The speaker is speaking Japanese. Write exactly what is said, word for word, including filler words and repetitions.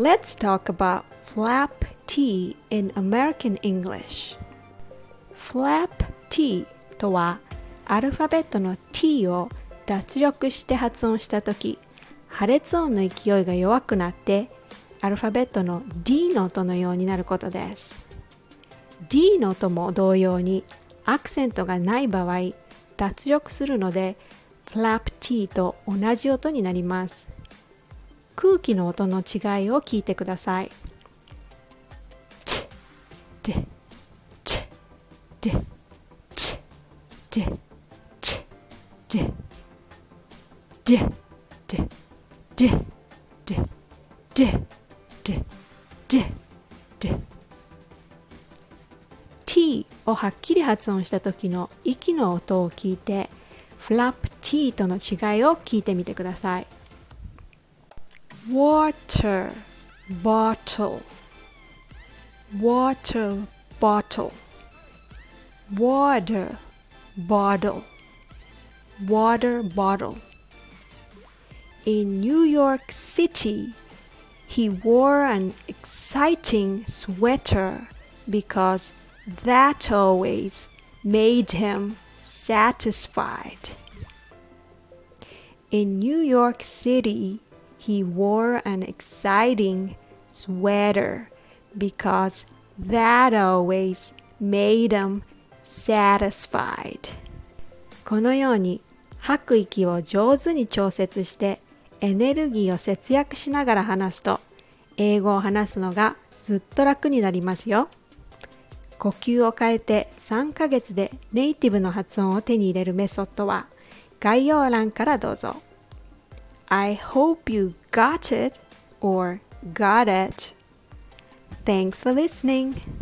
Let's talk about flap T in American English. Flap T とはアルファベットの T を脱力して発音したとき、破裂音の勢いが弱くなってアルファベットの D の音のようになることです。D の音も同様にアクセントがない場合、脱力するのでflap T と同じ音になります。空気の音の違いを聞いてください。チッ、で、チッ、で、チッ、で、チッ、で、で、で、で、で、で、で、で、で。T をはっきり発音した時の息の音を聞いて、flap T との違いを聞いてみてください。water bottle water bottle water bottle water bottle In New York City, he wore an exciting sweater because that always made him satisfied. In New York City, he wore an exciting sweater because that always made him satisfied. このように吐く息を上手に調節してエネルギーを節約しながら話すと英語を話すのがずっと楽になりますよ。呼吸を変えてさんかげつでネイティブの発音を手に入れるメソッドは概要欄からどうぞ。I hope you got it or got it. Thanks for listening.